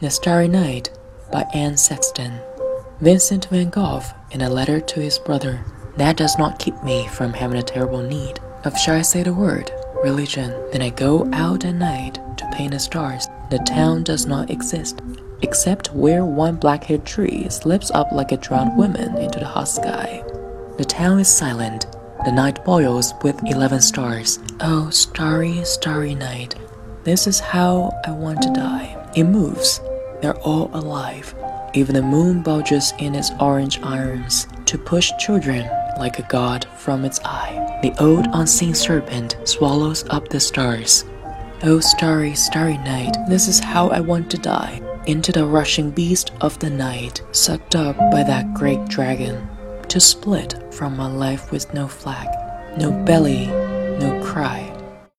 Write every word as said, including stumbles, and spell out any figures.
The Starry Night by Anne Sexton. Vincent van Gogh, in a letter to his brother. That does not keep me from having a terrible need of, shall I say the word, religion. Then I go out at night to paint the stars. The town does not exist, except where one black-haired tree slips up like a drowned woman into the hot sky. The town is silent. The night boils with eleven stars. Oh, starry, starry night. This is how I want to die. It moves. They're all alive. Even the moon bulges in its orange irons to push children like a god from its eye. The old unseen serpent swallows up the stars. Oh, starry, starry night, this is how I want to die. Into the rushing beast of the night, sucked up by that great dragon, to split from my life with no flag, no belly, no cry.